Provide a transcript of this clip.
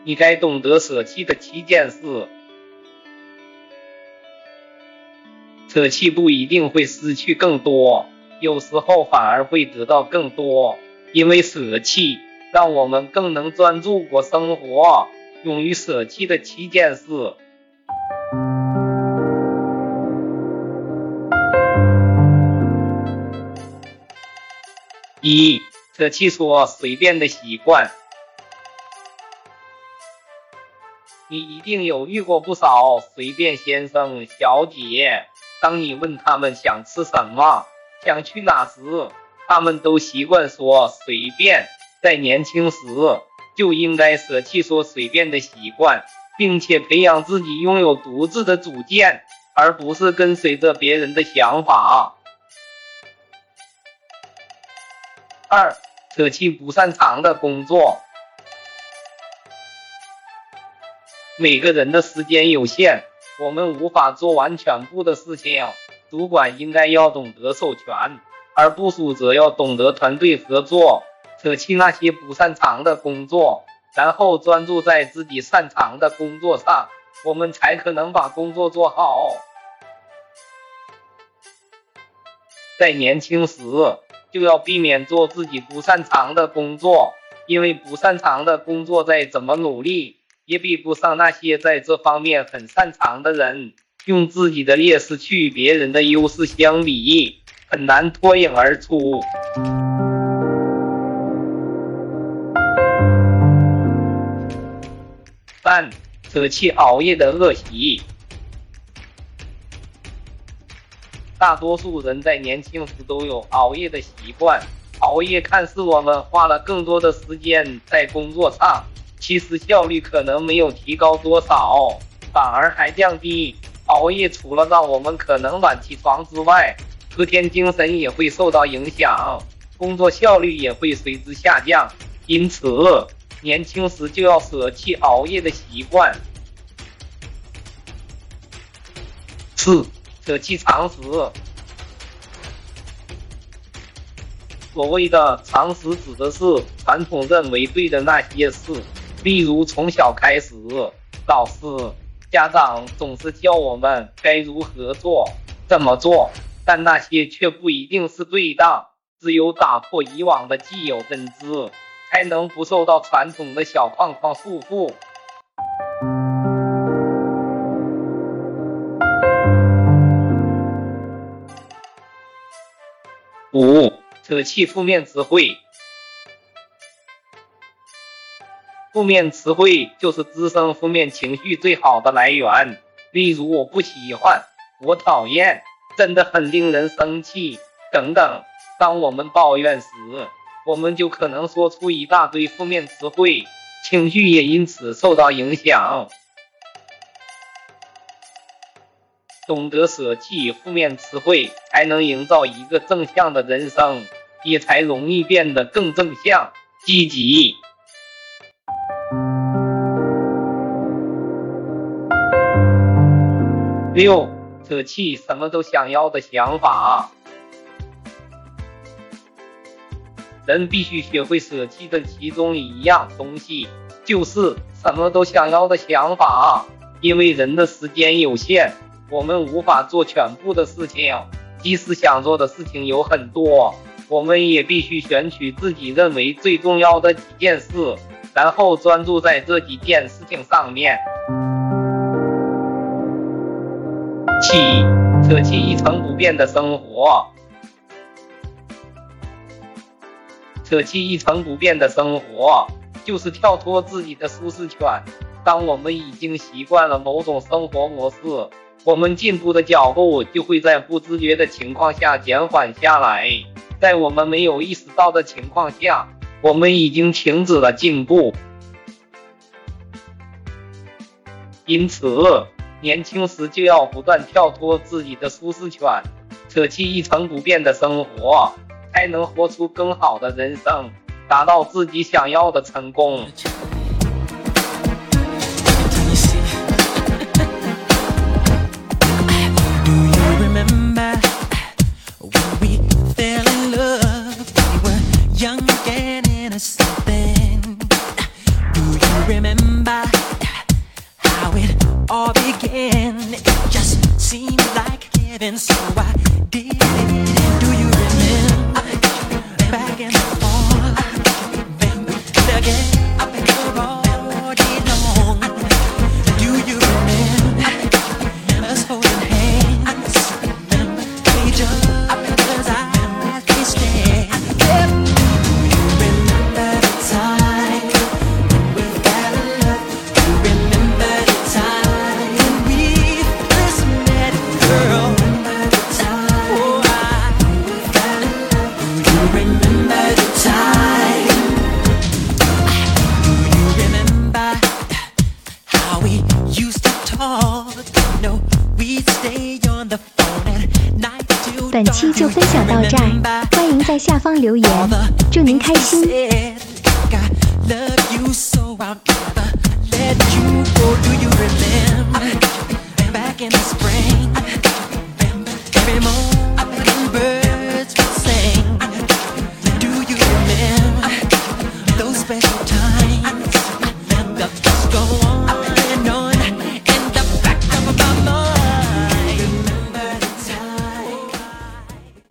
你该懂得舍弃的7件事。舍弃不一定会失去更多，有时候反而会得到更多，因为舍弃让我们更能专注过生活。勇于舍弃的7件事。1. 舍弃说随便的习惯。你一定有遇过不少随便先生小姐，当你问他们想吃什么，想去哪时，他们都习惯说随便。在年轻时就应该舍弃说随便的习惯，并且培养自己拥有独自的主见，而不是跟随着别人的想法。2. 舍弃不擅长的工作。每个人的时间有限，我们无法做完全部的事情，主管应该要懂得授权，而部属则要懂得团队合作。舍弃那些不擅长的工作，然后专注在自己擅长的工作上，我们才可能把工作做好。在年轻时就要避免做自己不擅长的工作，因为不擅长的工作再怎么努力也比不上那些在这方面很擅长的人。用自己的劣势去与别人的优势相比，很难脱颖而出。3. 舍弃熬夜的恶习。大多数人在年轻时都有熬夜的习惯，熬夜看似我们花了更多的时间在工作上，其实效率可能没有提高多少，反而还降低。熬夜除了让我们可能晚起床之外，隔天精神也会受到影响，工作效率也会随之下降。因此年轻时就要舍弃熬夜的习惯。4. 舍弃常识。所谓的常识指的是传统认为对的那些事，例如从小开始，老师、家长总是教我们该如何做、怎么做，但那些却不一定是对的。只有打破以往的既有认知，才能不受到传统的小框框束缚。5. 舍弃负面词汇。负面词汇就是滋生负面情绪最好的来源，例如我不喜欢、我讨厌、真的很令人生气等等。当我们抱怨时，我们就可能说出一大堆负面词汇，情绪也因此受到影响。懂得舍弃负面词汇，才能营造一个正向的人生，也才容易变得更正向、积极。6. 舍弃什么都想要的想法。人必须学会舍弃的其中一样东西，就是什么都想要的想法。因为人的时间有限，我们无法做全部的事情，即使想做的事情有很多，我们也必须选取自己认为最重要的几件事，然后专注在这几件事情上面。7. 舍弃一成不变的生活。舍弃一成不变的生活，就是跳脱自己的舒适圈。当我们已经习惯了某种生活模式，我们进步的脚步就会在不自觉的情况下减缓下来。在我们没有意识到的情况下，我们已经停止了进步。因此年轻时就要不断跳脱自己的舒适圈，舍弃一成不变的生活，才能活出更好的人生，达到自己想要的成功。 Young and innocent then. Do you remember how it all began? It just seemed like heaven, so I did it. Do you remember back and forth? Again, we're already long. Do you remember us holding hands? We just as I can stand. Do you remember the time when we fell in love? Do you remember the time when we first met, girl? Remember the time, oh, we fell in love. Do you remember the time? Do you remember how we used to talk? No, we'd stay on the phone at night till 本期就分享到这儿，欢迎在下方留言，祝您开心。 I love you so I'll never let you go. Do